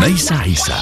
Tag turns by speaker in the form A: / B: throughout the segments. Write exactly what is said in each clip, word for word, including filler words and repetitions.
A: ليس عيسى.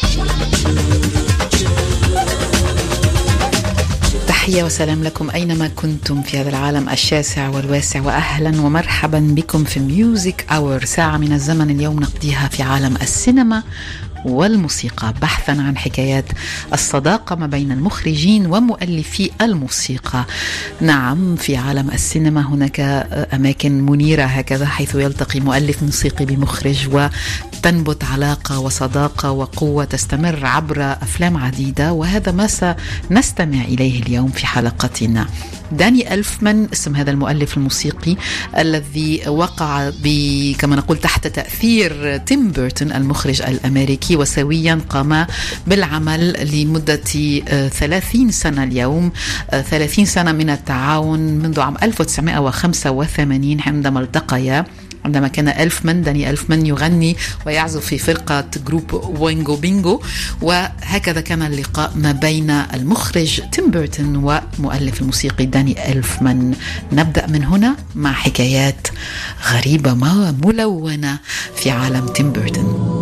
B: تحية وسلام لكم أينما كنتم في هذا العالم الشاسع والواسع، وأهلا ومرحبا بكم في ميوزك أور، ساعة من الزمن اليوم نقضيها في عالم السينما والموسيقى، بحثا عن حكايات الصداقة ما بين المخرجين ومؤلفي الموسيقى. نعم، في عالم السينما هناك أماكن منيرة هكذا حيث يلتقي مؤلف موسيقي بمخرج وتنبت علاقة وصداقة وقوة تستمر عبر أفلام عديدة، وهذا ما سنستمع إليه اليوم في حلقتنا. داني ألفمان اسم هذا المؤلف الموسيقي الذي وقع كما نقول تحت تأثير تيم بيرتون المخرج الأمريكي، وسويا قام بالعمل لمدة ثلاثين سنة اليوم، ثلاثين سنة من التعاون منذ عام ألف وتسعمائة وخمسة وثمانين عندما التقيا، عندما كان ألفمان داني ألفمان يغني ويعزف في فرقة جروب وينجو بينجو، وهكذا كان اللقاء ما بين المخرج تيم بيرتون ومؤلف الموسيقي داني ألفمان. نبدأ من هنا مع حكايات غريبة ما ملونة في عالم تيم بيرتون.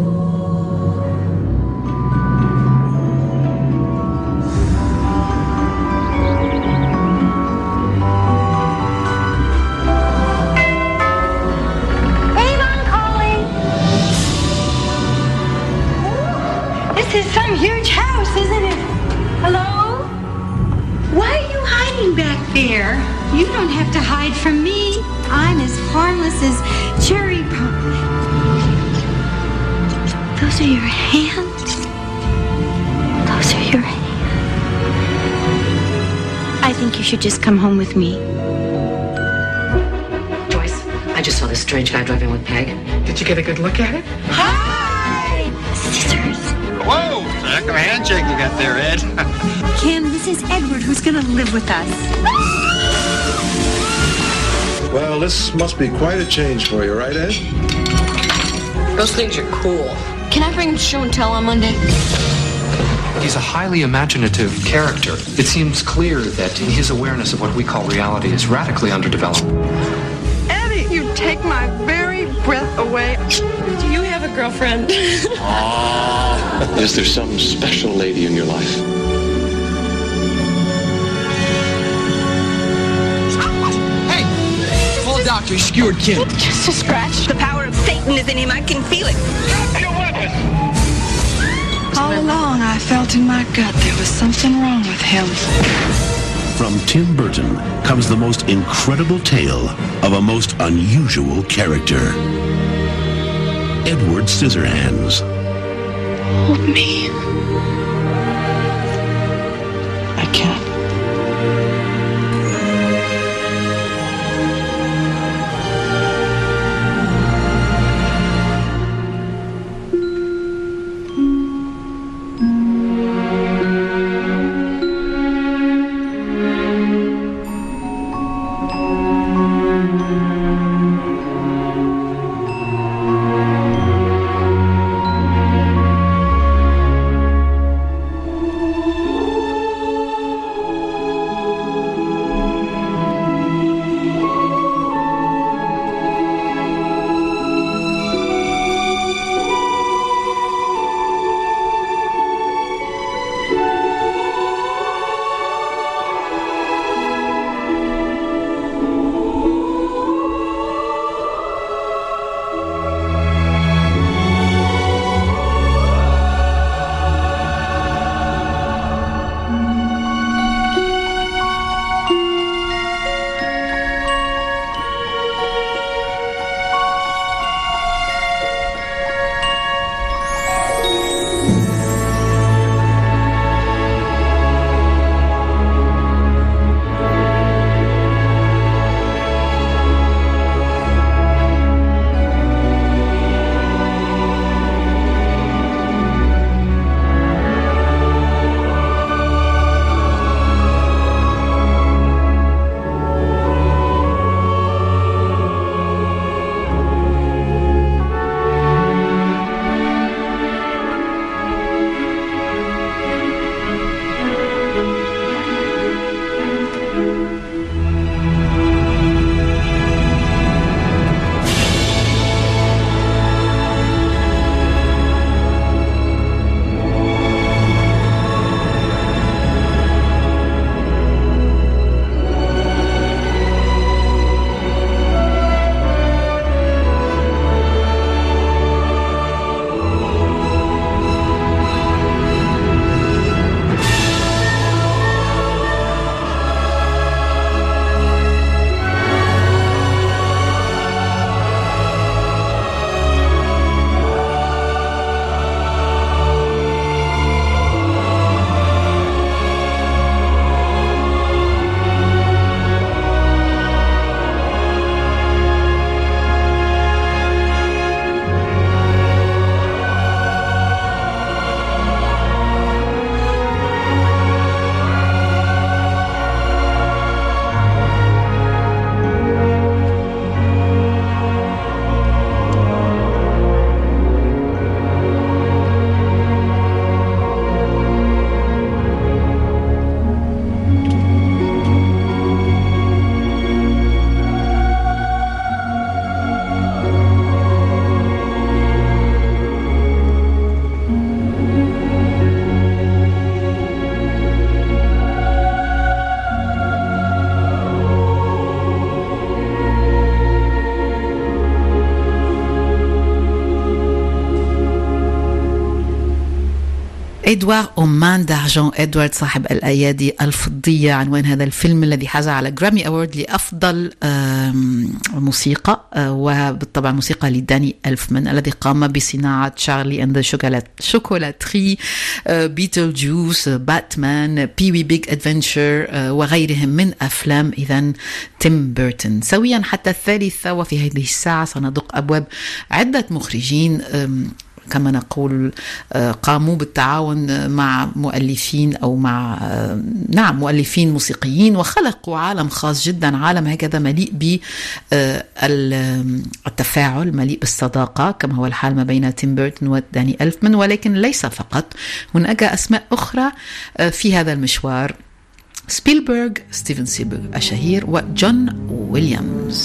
C: This is some huge house, isn't it? Hello? Why are you hiding back there? You don't have to hide from me. I'm as harmless as cherry pie. Those are your hands? Those are your hands. I think you should just come home with me.
D: Joyce, I just saw this strange guy driving with Peg. Did you get a good look at it?
C: Hi! Scissors.
E: Whoa! Heck of a handshake you got there, Ed.
C: Ken, this is Edward, who's going to live with us.
F: Well, this must be quite a change for you, right, Ed?
D: Those things are cool.
G: Can I bring him to show and tell on Monday?
H: He's a highly imaginative character. It seems clear that his awareness of what we call reality is radically underdeveloped.
G: Eddie, you take my very breath away. Do you have a girlfriend?
I: Is there some special lady in your life?
E: Hey! Call a doctor, he skewered Kim.
C: Just a scratch. The power of Satan is in him. I can feel it.
E: Your weapon!
J: All along, I felt in my gut there was something wrong with him.
A: From Tim Burton comes the most incredible tale of a most unusual character. Edward Scissorhands.
J: Hold me. I can't.
B: إدوارد أومان دارجون، إدوارد صاحب الأيادي الفضية، عنوان هذا الفيلم الذي حاز على جرامي أورد لأفضل موسيقى، وبالطبع موسيقى لداني ألفمان الذي قام بصناعة شارلي أند ذا شوكولاتري، بيتل جوس، باتمان، بي وي بيج أدفنتشر وغيرهم من أفلام إذن تيم بيرتون. سويا حتى الثالثة، وفي هذه الساعة سندق أبواب عدة مخرجين كما نقول قاموا بالتعاون مع مؤلفين أو مع نعم مؤلفين موسيقيين، وخلقوا عالم خاص جدا، عالم هكذا مليء بالتفاعل، مليء بالصداقة، كما هو الحال ما بين تيم بيرتون وداني ألفمان. ولكن ليس فقط، هناك أسماء أخرى في هذا المشوار: سبيلبرغ، ستيفن سبيلبرغ الشهير، وجون ويليامز.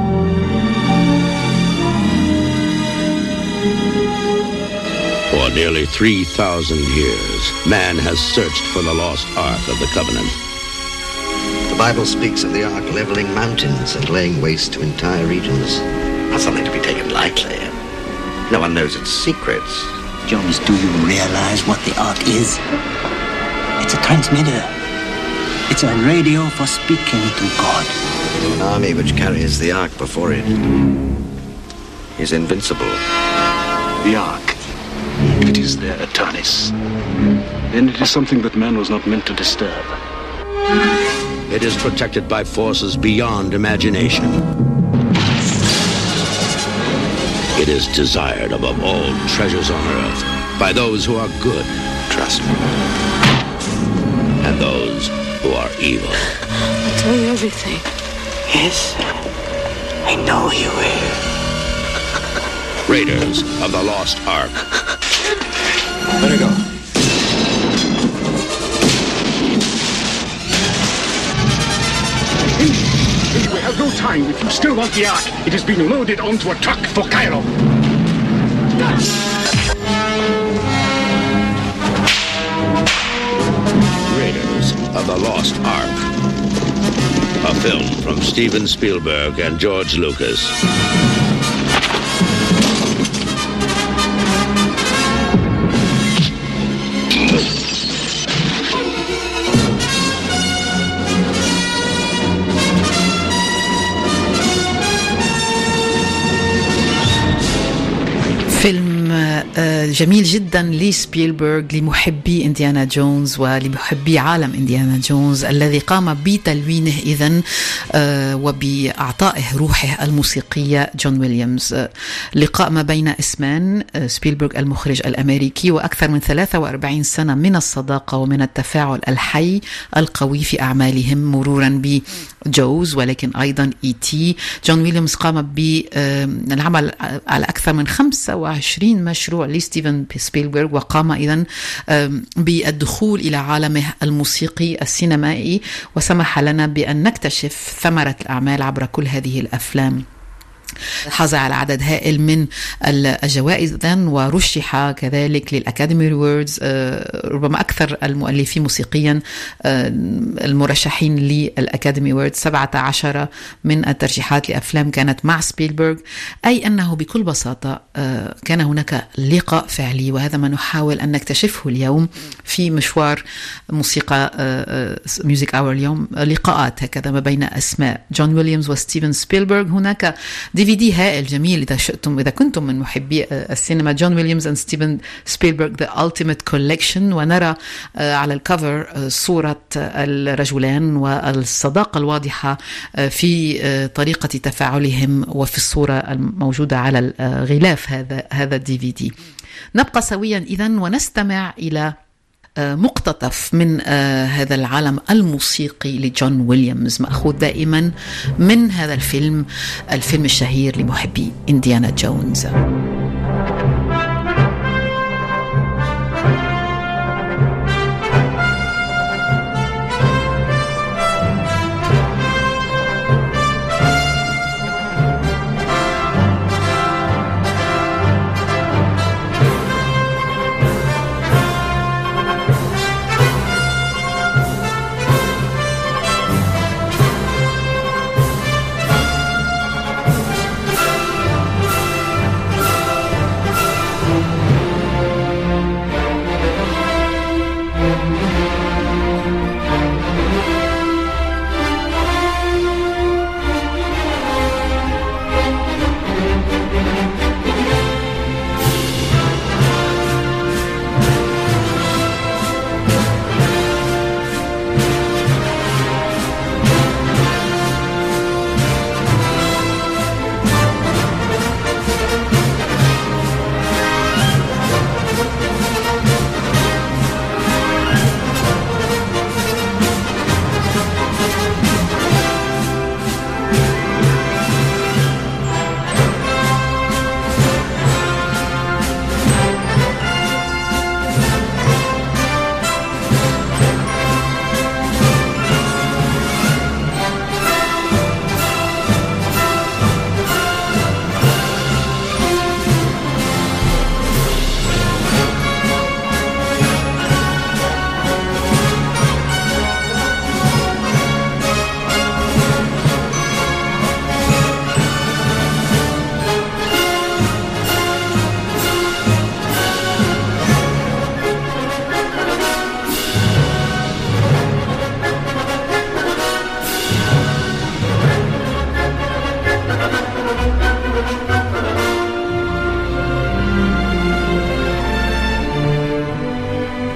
A: For nearly three thousand years, man has searched for the lost Ark of the Covenant.
K: The Bible speaks of the Ark leveling mountains and laying waste to entire regions. Not something to be taken lightly. No one knows its secrets.
L: Jones, do you realize what the Ark is? It's a transmitter. It's a radio for speaking to God.
K: An army which carries the Ark before it is invincible.
M: The Ark. If it is there, Atanis, then it is something that man was not meant to disturb.
A: It is protected by forces beyond imagination. It is desired above all treasures on earth by those who are good, trust me, and those who are evil.
J: I'll tell you everything.
L: Yes, I know you will.
A: Raiders of the Lost Ark.
K: Let her go.
M: We have no time. If you still want the Ark, it has been loaded onto a truck for Cairo.
A: Raiders of the Lost Ark. A film from Steven Spielberg and George Lucas.
B: فيلم جميل جدا لسبيلبرغ، لمحبي إنديانا جونز ولمحبي عالم إنديانا جونز، الذي قام بتلوينه إذن وبإعطائه روحه الموسيقية جون ويليامز. لقاء ما بين اسمان، سبيلبرغ المخرج الأمريكي، وأكثر من ثلاثة وأربعين سنة من الصداقة ومن التفاعل الحي القوي في أعمالهم، مرورا بجوز ولكن أيضا إي تي. جون ويليامز قام بالعمل على أكثر من خمسة وعشرين مشروع لستيفن سبيلبرغ، وقام إذن بالدخول إلى عالمه الموسيقي السينمائي، وسمح لنا بأن نكتشف ثمرة الأعمال عبر كل هذه الأفلام. حاز على عدد هائل من الجوائز ورشح كذلك للأكاديمي ريوردز، ربما أكثر المؤلفين موسيقيا المرشحين للأكاديمي ريوردز، سبعة عشر من الترشيحات لأفلام كانت مع سبيلبرغ. أي أنه بكل بساطة كان هناك لقاء فعلي، وهذا ما نحاول أن نكتشفه اليوم في مشوار موسيقى ميوزك أور اليوم، لقاءات هكذا ما بين أسماء جون ويليامز وستيفن سبيلبرغ. هناك دي في دي هائل جميل إذا شئتم، إذا كنتم من محبي السينما، جون ويليامز and ستيفن سبيلبرغ The Ultimate Collection، ونرى على الكفر صورة الرجلان والصداقة الواضحة في طريقة تفاعلهم وفي الصورة الموجودة على الغلاف هذا هذا الدي في دي. نبقى سويا إذن ونستمع إلى مقتطف من هذا العالم الموسيقي لجون ويليامز، مأخوذ دائما من هذا الفيلم الفيلم الشهير لمحبي إنديانا جونز.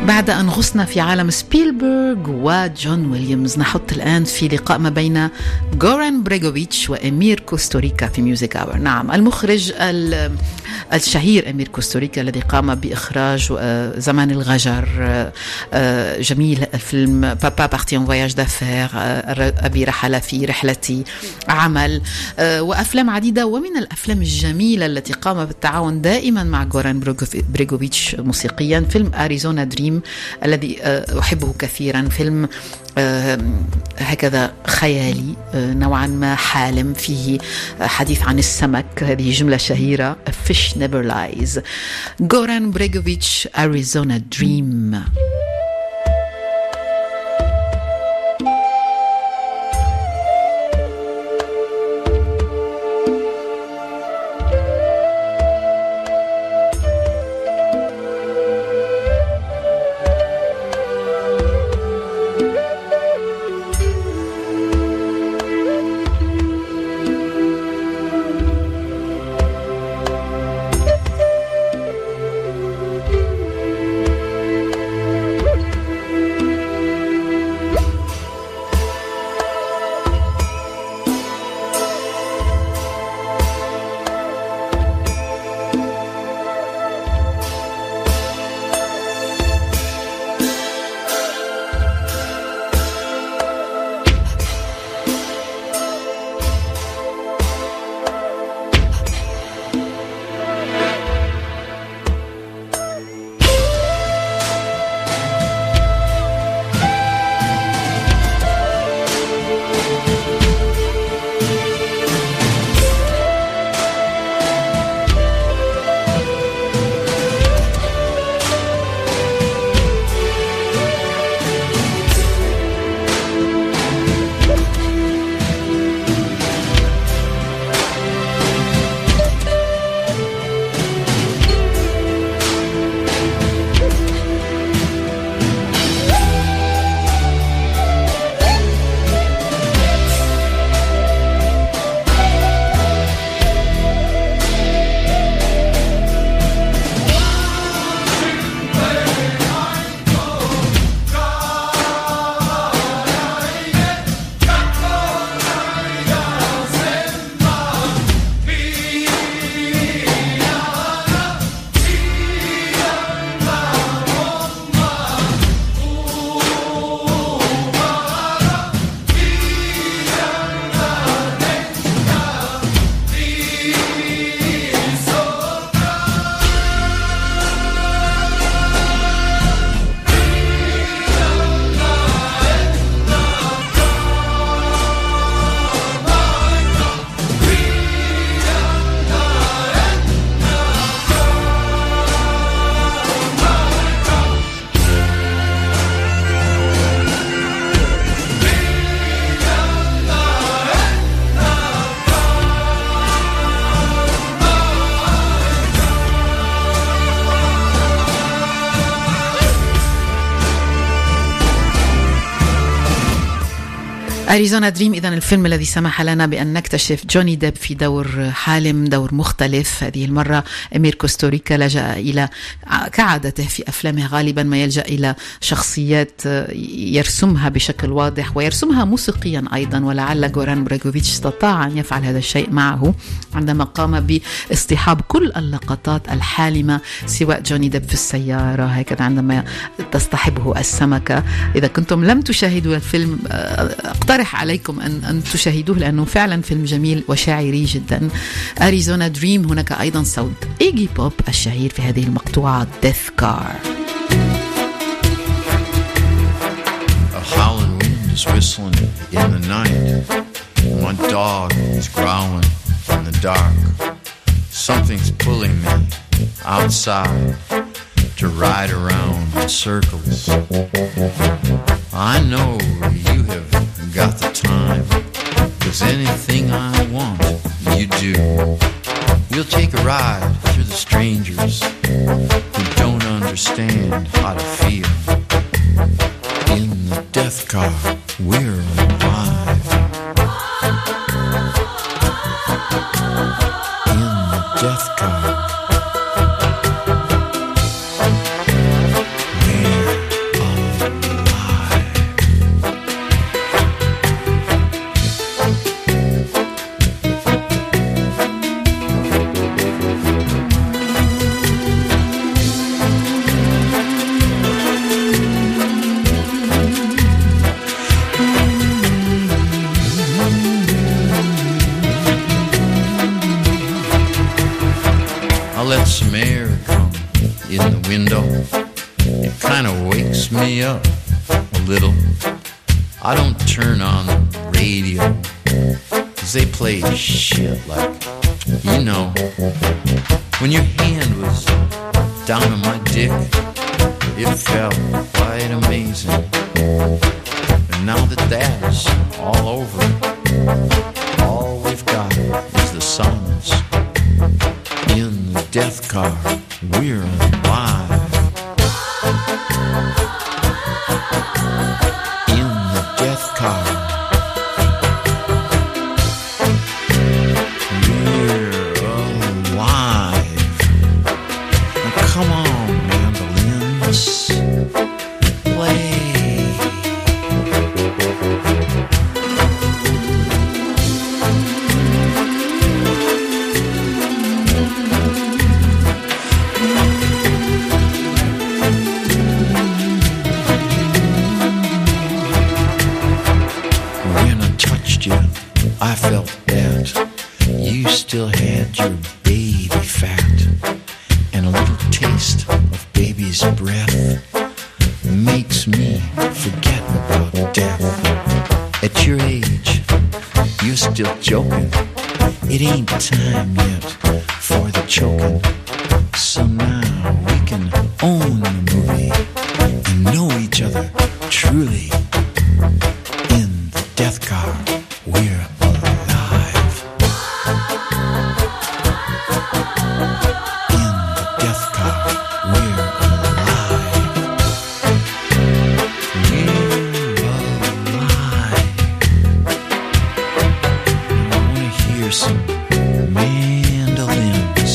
B: بعد أن غصنا في عالم سبيلبرغ وجون ويليامز، نحط الآن في لقاء ما بين غوران بريغوفيتش وأمير كوستوريكا في ميوزك آور. نعم، المخرج الشهير أمير كوستوريكا الذي قام بإخراج زمان الغجر، جميل الفيلم بابا بارتي ان فواياج دافير، أبي رحل في رحلتي، عمل وأفلام عديدة. ومن الأفلام الجميلة التي قام بالتعاون دائما مع غوران بريغوفيتش موسيقيا فيلم أريزونا دريم الذي أحبه كثيرا. فيلم هكذا خيالي نوعا ما حالم، فيه حديث عن السمك، هذه جملة شهيرة A fish never lies. غوران بريغوفيتش Arizona Dream. أريزونا دريم إذن الفيلم الذي سمح لنا بأن نكتشف جوني ديب في دور حالم، دور مختلف. هذه المرة أمير كوستوريكا لجأ إلى، كعادته في أفلامه غالبا ما يلجأ إلى شخصيات يرسمها بشكل واضح ويرسمها موسيقيا أيضا، ولعل غوران بريغوفيتش استطاع أن يفعل هذا الشيء معه عندما قام باصطحاب كل اللقطات الحالمة، سواء جوني ديب في السيارة هكذا عندما تصطحبه السمكة. إذا كنتم لم تشاهدوا الفيلم أقترح عليكم أن, أن تشاهدوه لأنه فعلا فيلم جميل وشاعري جدا. أريزونا دريم. هناك أيضا صوت إيجي بوب الشهير في هذه المقطوعة Death Car.
N: A howling wind is whistling in the night. My dog is growling in the dark. Something's pulling me outside to ride around in circles. I know you have got the time, 'cause anything I want, you do. We'll take a ride through the strangers who don't understand how to feel. In the death car, we're alive. In the death car. Man. kind of wakes me up a little. I don't turn on the radio, 'cause they play shit like, you know, when your hand was down on my dick, it felt quite amazing. And now that that's all over, all we've got is the silence. In the death car, we're alive. In the death car, we're alive. Now come on, mandolins, play. I felt that you still had your baby fat and a little taste of baby's breath makes me forget about death. At your age, you're still joking. It ain't time yet for the choking. So now we can own the movie and know each other truly. In the death car, we're alive. In the death car, we're alive. We're alive. I want to hear some mandolins.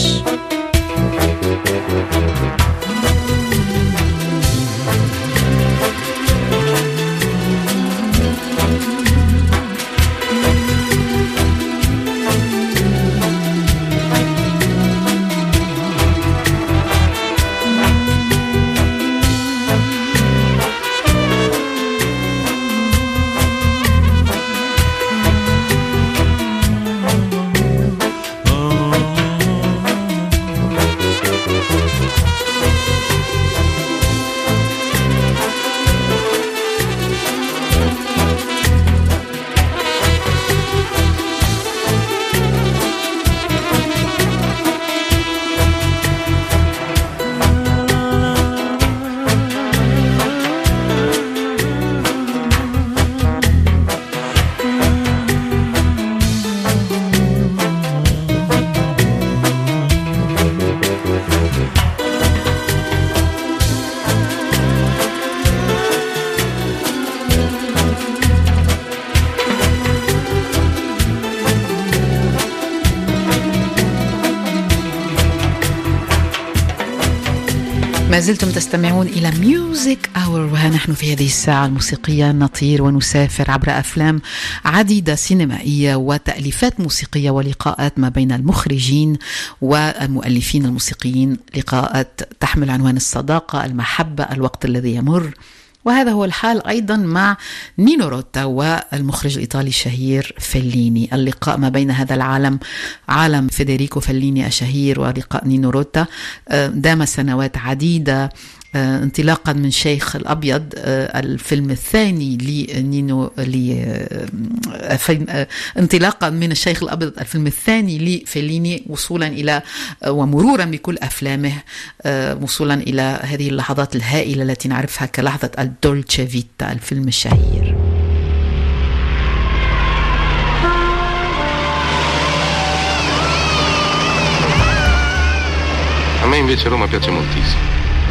B: ما زلتم تستمعون إلى ميوزك أور، وها نحن في هذه الساعة الموسيقية نطير ونسافر عبر أفلام عديدة سينمائية وتأليفات موسيقية ولقاءات ما بين المخرجين والمؤلفين الموسيقيين، لقاءات تحمل عنوان الصداقة، المحبة، الوقت الذي يمر. وهذا هو الحال أيضا مع نينو روتا والمخرج الإيطالي الشهير فيليني. اللقاء ما بين هذا العالم، عالم فيدريكو فيليني الشهير، ولقاء نينو روتا دام سنوات عديدة، انطلاقا من شيخ الأبيض الفيلم الثاني لنينو لي انطلاقا من الشيخ الأبيض الفيلم الثاني لفيليني، وصولا إلى ومرورا بكل أفلامه، وصولا إلى هذه اللحظات الهائلة التي نعرفها كلحظة الدولتشي فيتا الفيلم الشهير.
O: A me invece Roma piace moltissimo.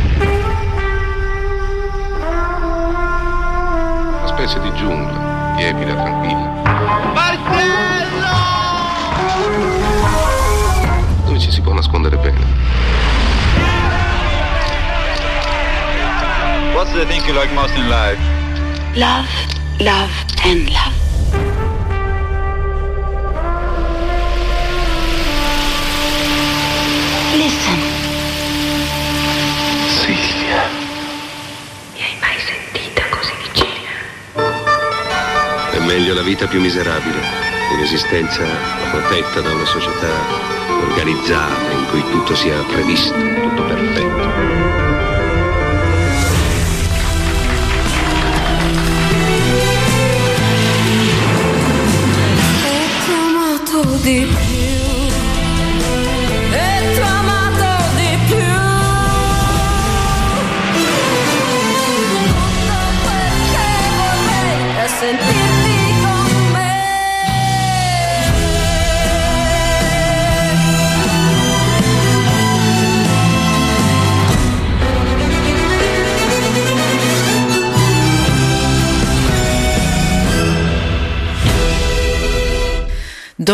O: Una specie di giungla, tiepida, tranquilla. Marcello! Dove ci si può nascondere bene.
P: What's the thing you like most in life?
J: Love, love, and love. Listen.
O: Silvia.
J: Mi hai mai sentita così vicina?
O: È meglio la vita più miserabile, un'esistenza protetta da una società organizzata in cui tutto sia previsto, tutto perfetto.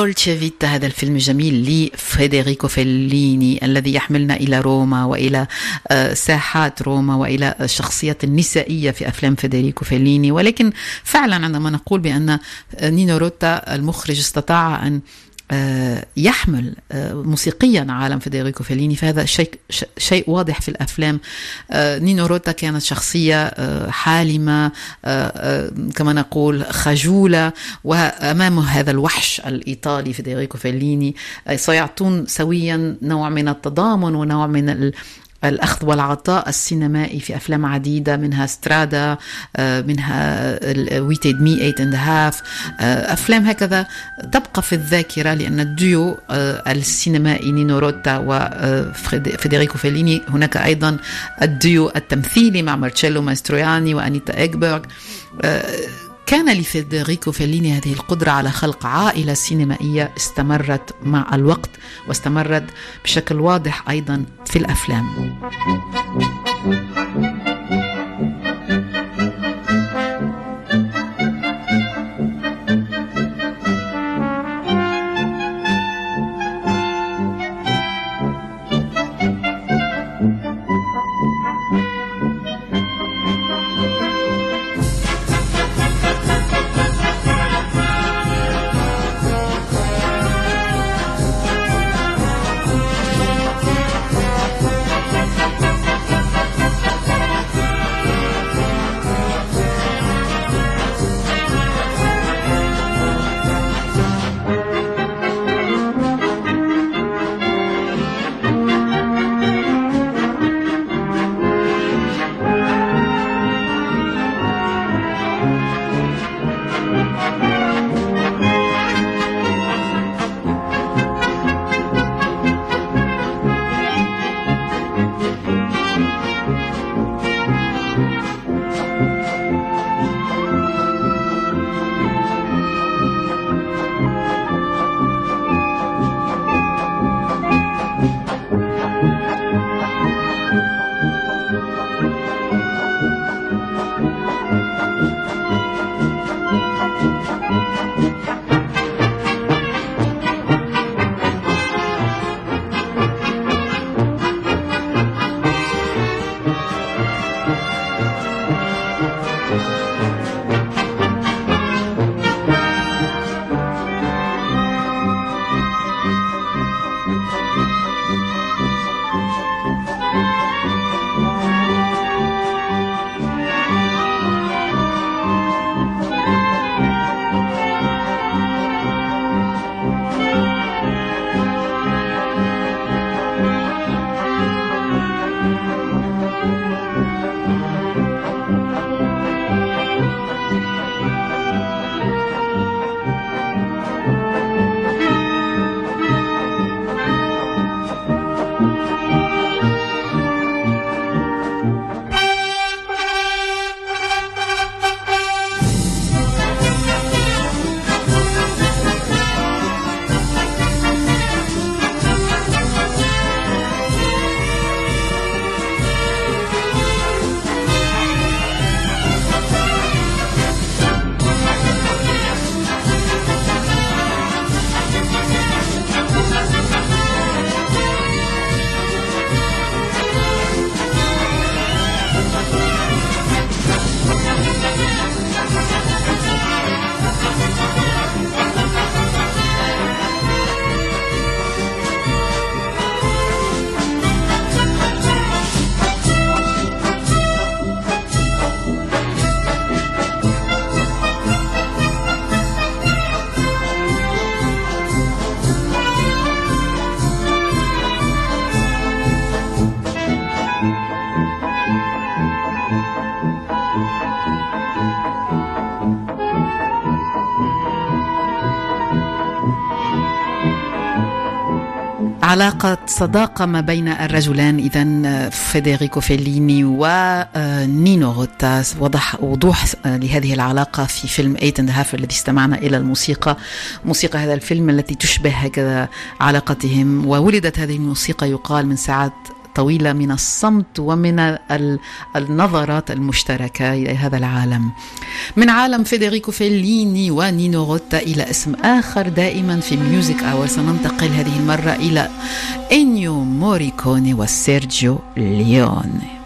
B: دولتشي فيتا، هذا الفيلم الجميل لفيدريكو فيليني الذي يحملنا إلى روما وإلى ساحات روما وإلى الشخصيات النسائية في أفلام فيدريكو فيليني. ولكن فعلا عندما نقول بأن نينو روتا المخرج استطاع أن يحمل موسيقيا عالم فيدريكو فيليني، فهذا شيء شيء واضح في الأفلام. نينو روتا كانت شخصية حالمة كما نقول خجولة، وأمام هذا الوحش الإيطالي فيدريكو فيليني سيعطون سويا نوع من التضامن ونوع من الأخذ والعطاء السينمائي في أفلام عديدة، منها سترادا، منها ويتد مي ايت اند هاف، أفلام هكذا تبقى في الذاكرة، لأن الديو السينمائي نينو روتا وفيدريكو فيليني، هناك أيضا الديو التمثيلي مع مارتشيلو ماستروياني وأنيتا إيغبرغ. كان لفيدريكو فيليني هذه القدرة على خلق عائلة سينمائية استمرت مع الوقت واستمرت بشكل واضح أيضا في الأفلام. علاقة صداقة ما بين الرجلان إذن فيدريكو فيليني ونينو روتا، وضح وضوح لهذه العلاقة في فيلم ايت اند هاف الذي استمعنا إلى الموسيقى، موسيقى هذا الفيلم التي تشبه هكذا علاقتهم. وولدت هذه الموسيقى يقال من ساعات طويلة من الصمت ومن النظرات المشتركة إلى هذا العالم. من عالم فيدريكو فيليني ونينو روتا إلى اسم آخر دائما في ميوزك أور، سننتقل هذه المرة إلى إنيو موريكوني وسيرجيو ليوني.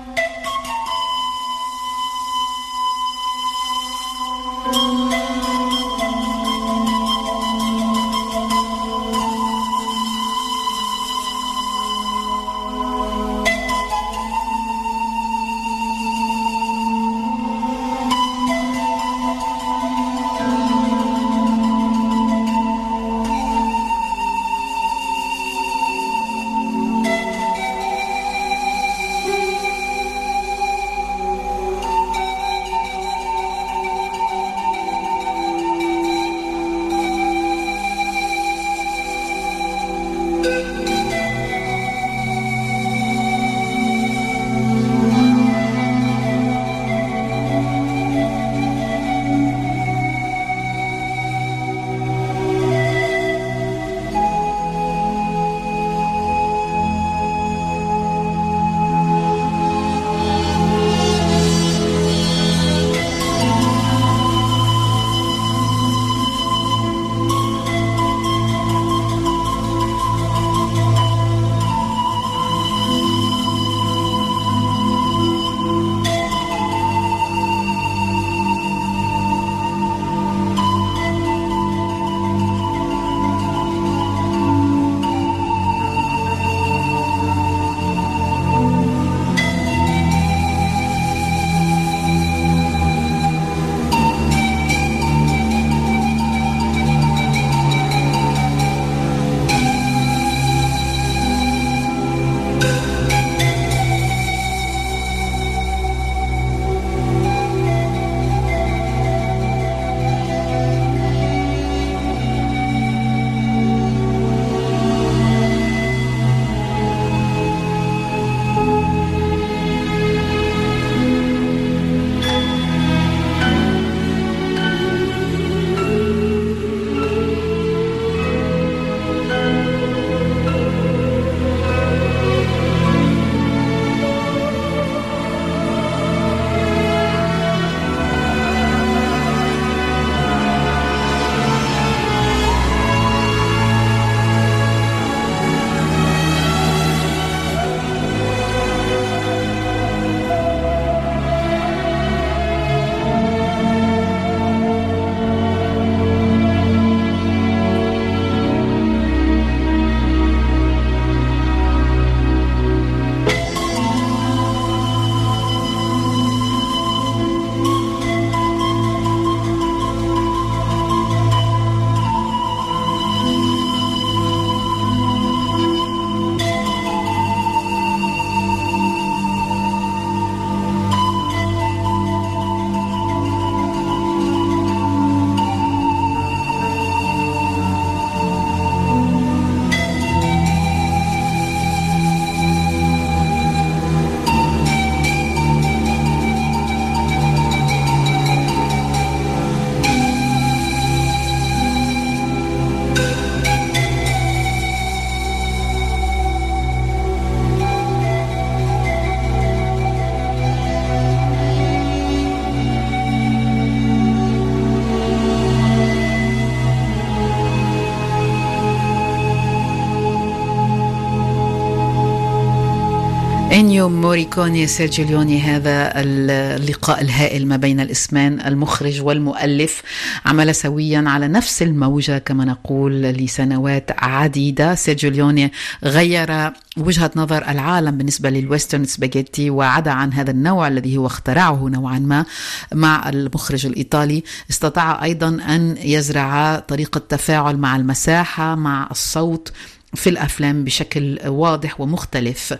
B: إنيو موريكوني سيرجيو ليوني، هذا اللقاء الهائل ما بين الاسمين، المخرج والمؤلف، عمل سويا على نفس الموجة كما نقول لسنوات عديدة. سيرجيو ليوني غير وجهة نظر العالم بالنسبة للويسترن سباجيتي وعدا عن هذا النوع الذي هو اخترعه نوعا ما. مع المخرج الإيطالي استطاع أيضا أن يزرع طريقة تفاعل مع المساحة مع الصوت في الأفلام بشكل واضح ومختلف.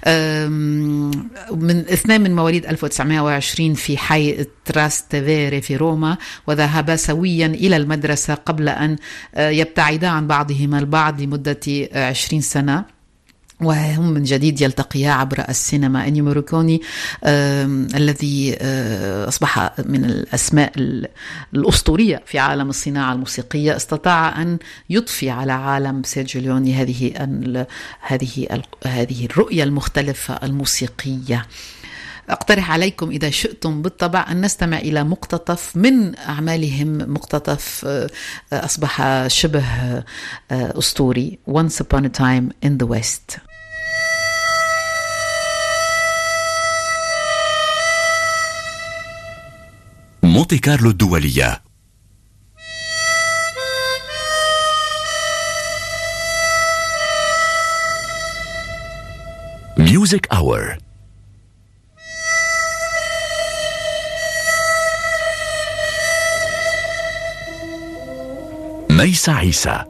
B: من اثنين من مواليد ألف وتسعمائة وعشرين في حي تراستيفيري في روما، وذهبا سويا إلى المدرسة قبل أن يبتعدا عن بعضهما البعض لمدة عشرين سنة. وهم من جديد يلتقيا عبر السينما. أنيو موريكوني الذي آه أصبح من الأسماء الأسطورية في عالم الصناعة الموسيقية استطاع أن يضفي على عالم سيرجيو ليوني هذه هذه هذه الرؤية المختلفة الموسيقية. أقترح عليكم إذا شئتم بالطبع أن نستمع إلى مقتطف من أعمالهم، مقتطف أصبح شبه أسطوري، Once Upon a Time in the West.
Q: مونتي كارلو الدولية. ميوزك أور. ميسة عيسى.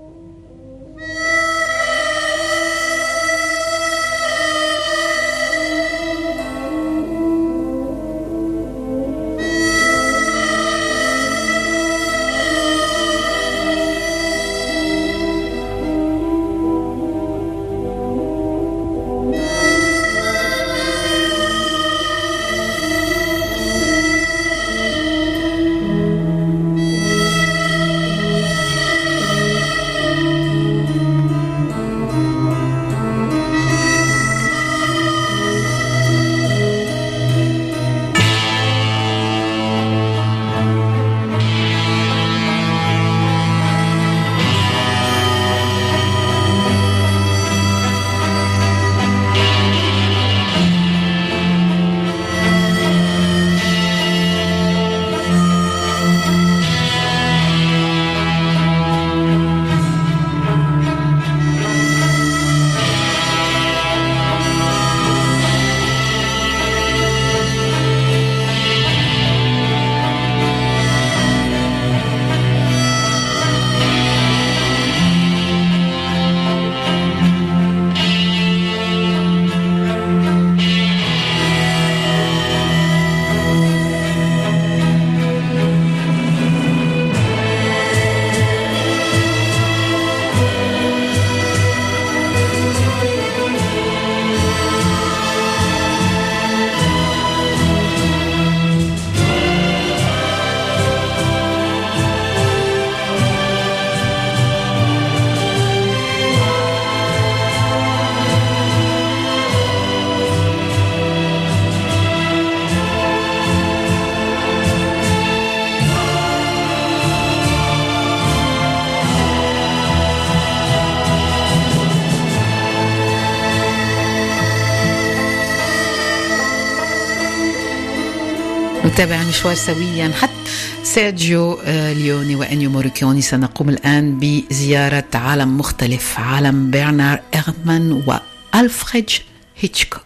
B: نتابع المشوار سويا حتى سيرجيو ليوني وأنيو موريكوني. سنقوم الآن بزيارة عالم مختلف، عالم برنار إرمان وألفريد هيتشكوك.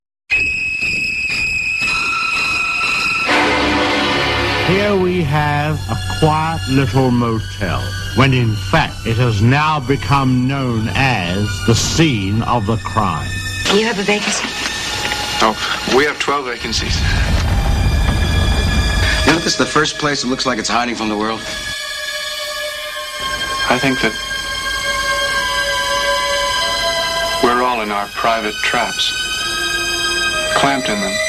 R: Here we have a quiet little motel, when in fact it has now become known as the scene of the crime.
D: Do you have a vacancy?
P: Oh, we have twelve vacancies.
S: You know, this is the first place that looks like it's hiding from the world.
P: I think that we're all in our private traps, clamped in them.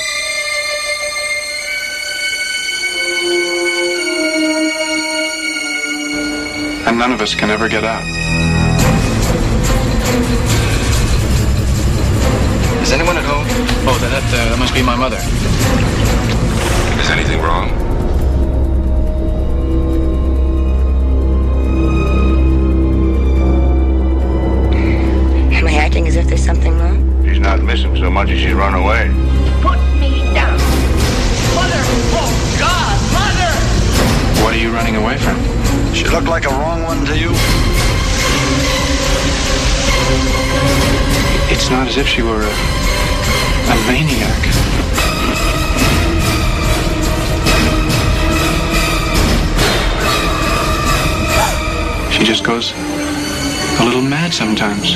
P: And none of us can ever get out.
S: Is anyone at home?
P: Oh, that, that, uh, that must be my mother.
O: Is anything wrong?
T: Am I acting as if there's something wrong?
O: She's not missing so much as she's run away.
T: Put me down. Mother! Oh, God! Mother!
P: What are you running away from?
S: She looked like a wrong one to you?
P: It's not as if she were a, a maniac. She just goes a little mad sometimes.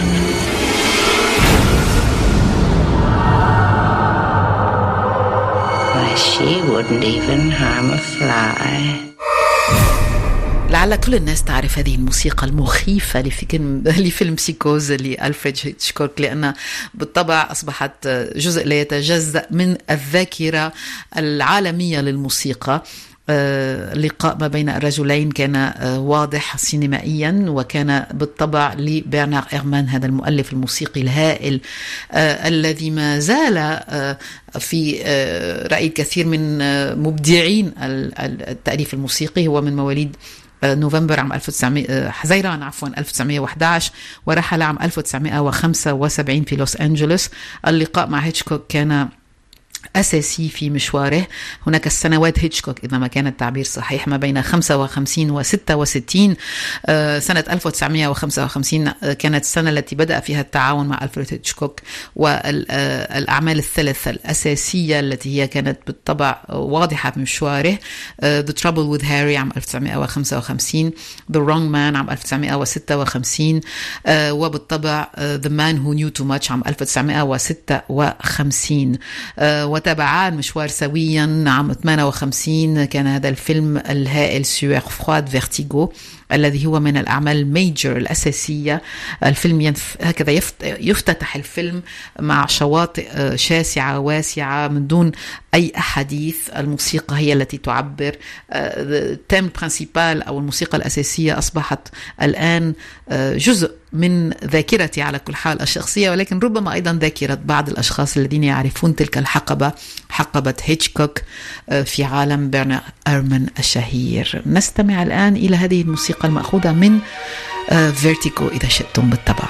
T: Why, she wouldn't even harm a fly.
B: لعل كل الناس تعرف هذه الموسيقى المخيفة لفيلم لفيلم سيكوز لألفريد هيتشكوك، لأنها بالطبع أصبحت جزء لا يتجزأ من الذاكرة العالمية للموسيقى. اللقاء ما بين الرجلين كان واضح سينمائيا، وكان بالطبع لبرنار إيرمان هذا المؤلف الموسيقي الهائل الذي ما زال في رأي الكثير من مبدعين التأليف الموسيقي. هو من مواليد نوفمبر عام ألف وتسعمائة حزيران عفوا ألف وتسعمائة وأحد عشر، ورحل عام ألف وتسعمائة وخمسة وسبعين في لوس أنجلوس. اللقاء مع هيتشكوك كان أساسي في مشواره. هناك السنوات هيتشكوك إذا ما كان التعبير صحيح ما بين خمسة وخمسين وستة وستين. سنة ألف وتسعمائة وخمسة وخمسين كانت السنة التي بدأ فيها التعاون مع ألفريد هيتشكوك، والأعمال الثلاثة الأساسية التي هي كانت بالطبع واضحة في مشواره: The Trouble with Harry عام ألف وتسعمائة وخمسة وخمسين، The Wrong Man عام ألف وتسعمائة وستة وخمسين، وبالطبع The Man Who Knew Too Much عام ألف وتسعمائة وستة وخمسين. وتابعان مشوار سويا. عام ثمانية وخمسين كان هذا الفيلم الهائل سوير فرواد فيرتيغو، الذي هو من الأعمال الميجر الأساسية. الفيلم ينف... هكذا يفت... يفتتح الفيلم مع شواطئ شاسعة واسعة من دون أي أحاديث. الموسيقى هي التي تعبر. التيم برينسيبال أو الموسيقى الأساسية أصبحت الآن جزء من ذاكرتي على كل حال الشخصية، ولكن ربما أيضا ذاكرة بعض الأشخاص الذين يعرفون تلك الحقبة، حقبة هيتشكوك في عالم برنار إيرمان الشهير. نستمع الآن إلى هذه الموسيقى المأخوذة من فيرتيغو إذا شئتم بالطبع.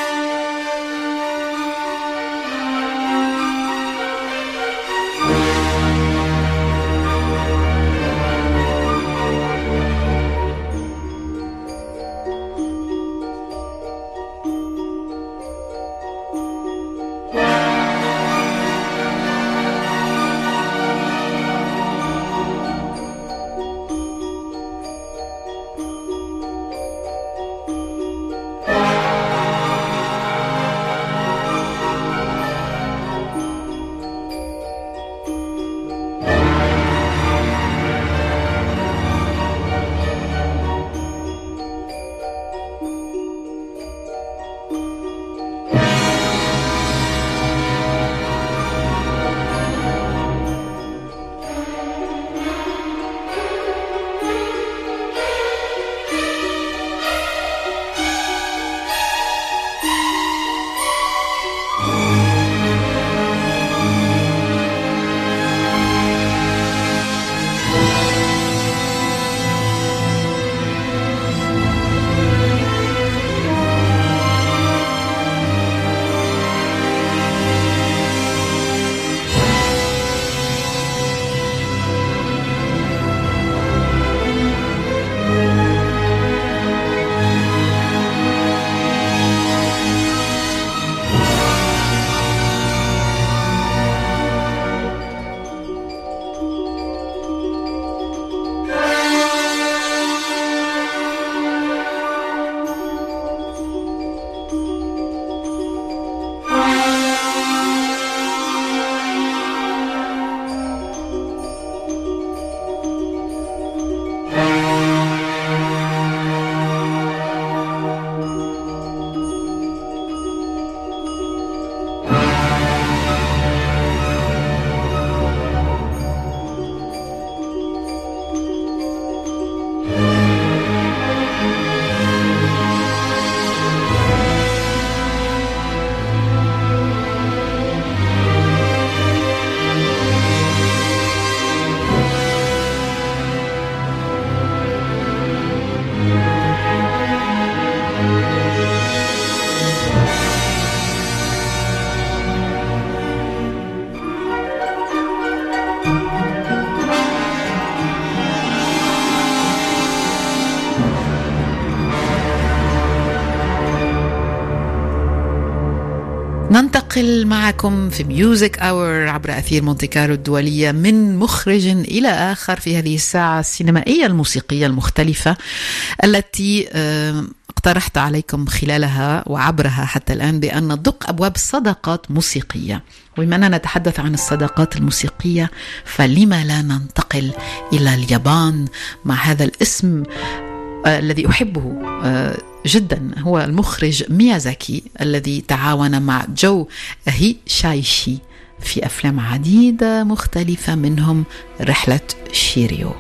B: ننتقل معكم في ميوزك أور عبر أثير مونتي كارلو الدولية من مخرج إلى آخر في هذه الساعة السينمائية الموسيقية المختلفة التي اقترحت عليكم خلالها وعبرها حتى الآن بأن ندق أبواب صداقات موسيقية. وبما أننا نتحدث عن الصداقات الموسيقية فلما لا ننتقل إلى اليابان مع هذا الاسم آه الذي أحبه آه جدا هو المخرج ميازاكي الذي تعاون مع جو هيشايشي في أفلام عديدة مختلفة منهم رحلة شيريو.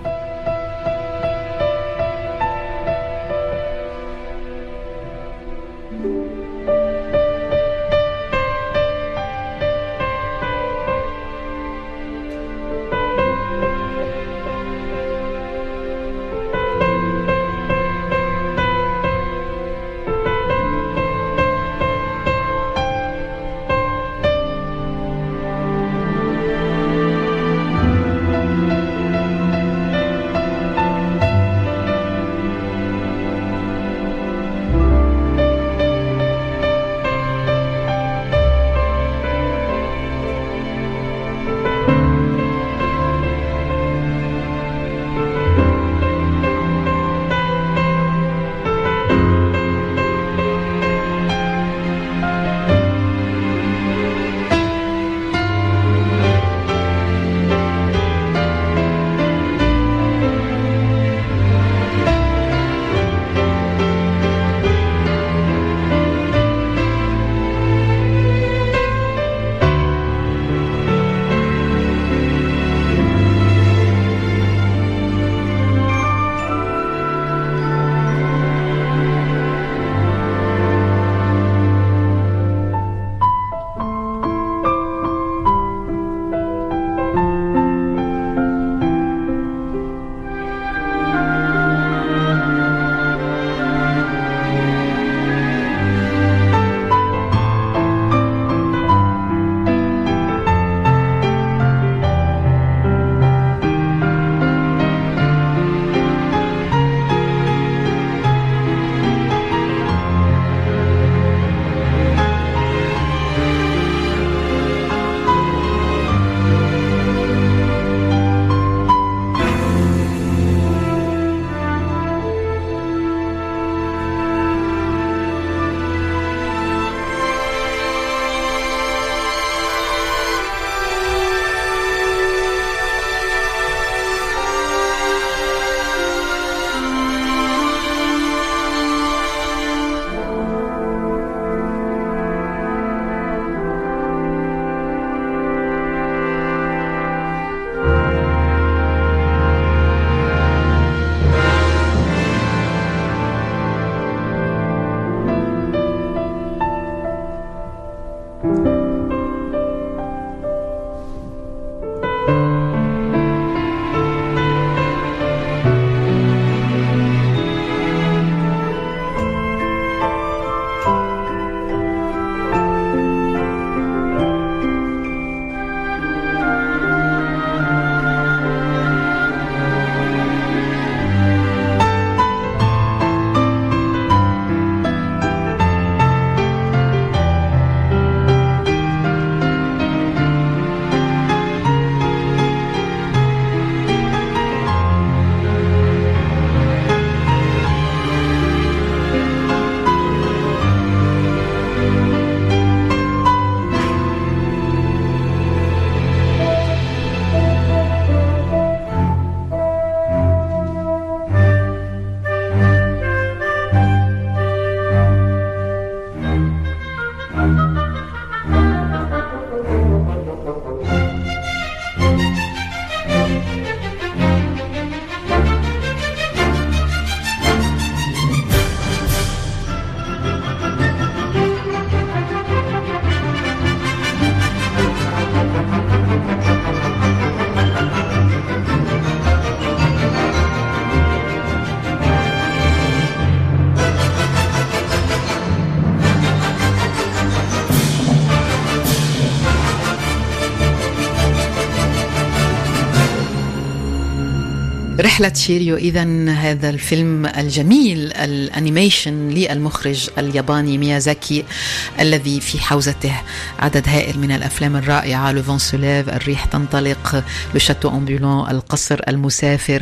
B: رحلة شيريو. إذن هذا الفيلم الجميل الأنيميشن للمخرج الياباني ميازاكي الذي في حوزته عدد هائل من الأفلام الرائعة، لو فون سوليف، الريح تنطلق، لو شاتو أمبولون، القصر المسافر،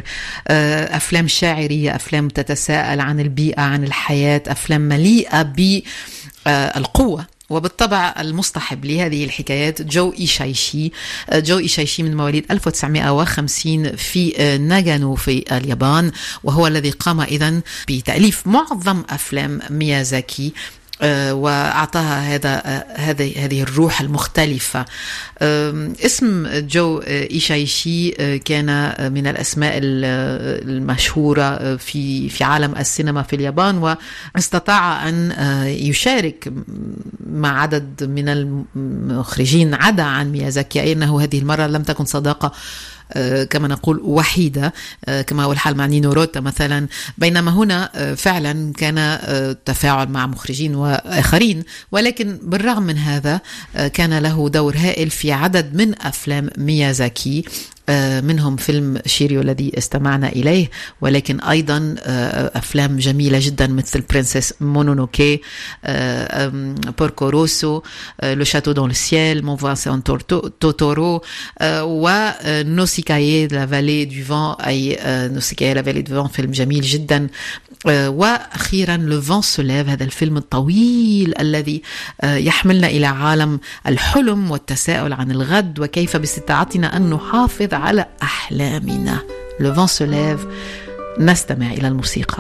B: أفلام شاعرية، أفلام تتساءل عن البيئة، عن الحياة، أفلام مليئة بالقوة وبالطبع المصطحب لهذه الحكايات جو إيشايشي. جو إيشايشي من مواليد ألف وتسعمائة وخمسين في ناغانو في اليابان، وهو الذي قام إذن بتأليف معظم أفلام ميازاكي وأعطاها هذا هذه هذه الروح المختلفة. اسم جو إيشايشي كان من الأسماء المشهورة في في عالم السينما في اليابان، واستطاع أن يشارك مع عدد من المخرجين عدا عن ميازاكي، أي أنه هذه المرة لم تكن صداقة كما نقول وحيدة كما هو الحال مع نينو روتا مثلا، بينما هنا فعلا كان تفاعل مع مخرجين وآخرين، ولكن بالرغم من هذا كان له دور هائل في عدد من أفلام ميازاكي، منهم فيلم شيريو الذي استمعنا إليه، ولكن أيضا أفلام جميلة جدا مثل برنسس مونونوكي، بوركو روسو، لو شاتو دون السيل، مون فانسون توتورو، ونوسيكايي لا فالي دو فان، أي نوسيكايي لا فالي دو فان فيلم جميل جدا، وأخيرا لو فان سوليف، هذا الفيلم الطويل الذي يحملنا إلى عالم الحلم والتساؤل عن الغد وكيف باستطاعتنا أن نحافظ على أحلامنا. لو فان سوليف. نستمع إلى الموسيقى.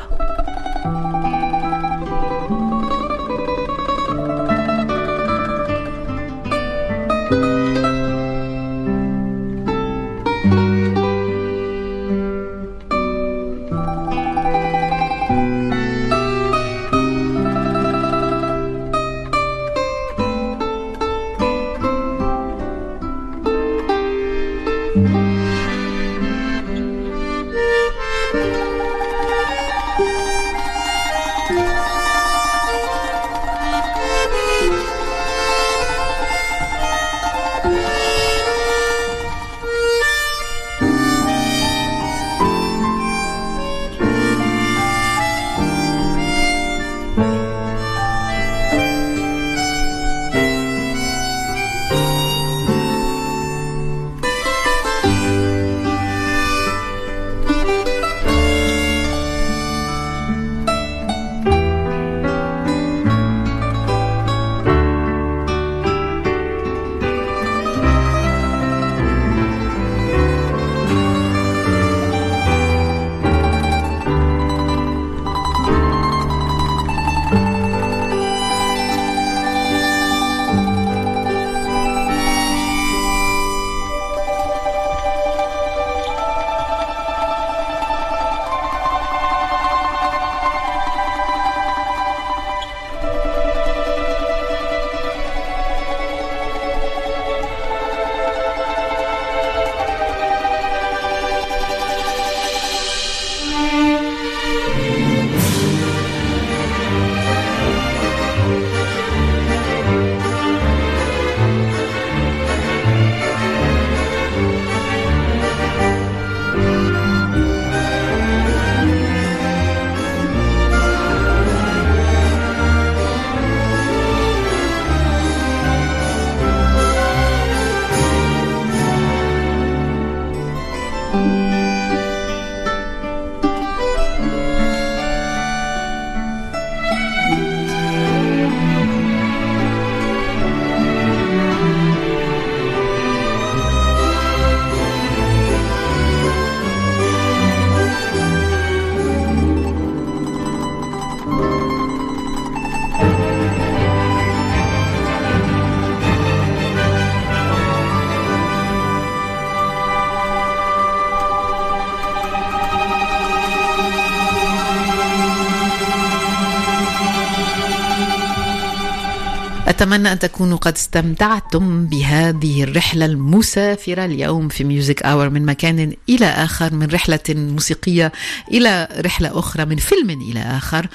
B: أتمنى أن تكونوا قد استمتعتم بهذه الرحلة المسافرة اليوم في ميوزك آور، من مكان إلى آخر، من رحلة موسيقية إلى رحلة أخرى، من فيلم إلى آخر.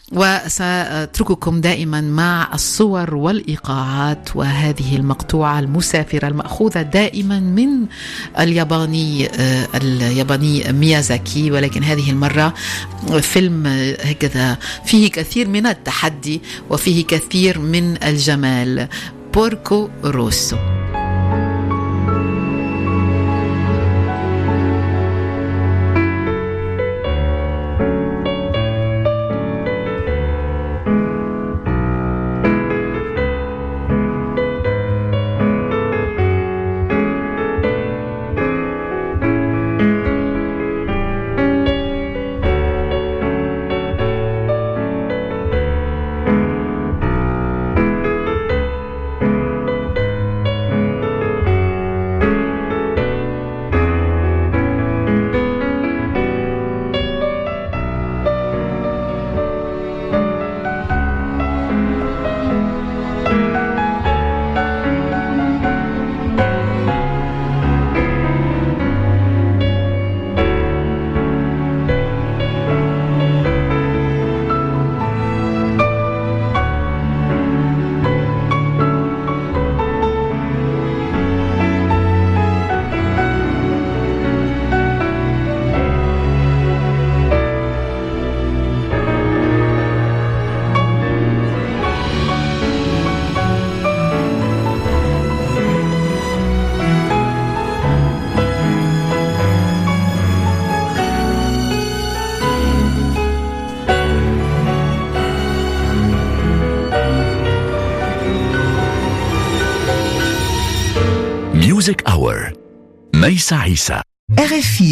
B: وسأترككم دائما مع الصور والإيقاعات وهذه المقطوعة المسافرة المأخوذة دائما من الياباني الياباني ميازاكي، ولكن هذه المرة فيلم هكذا فيه كثير من التحدي وفيه كثير من الجمال، بوركو روسو.
Q: Music Hour. ميسة عيسى.
U: R F I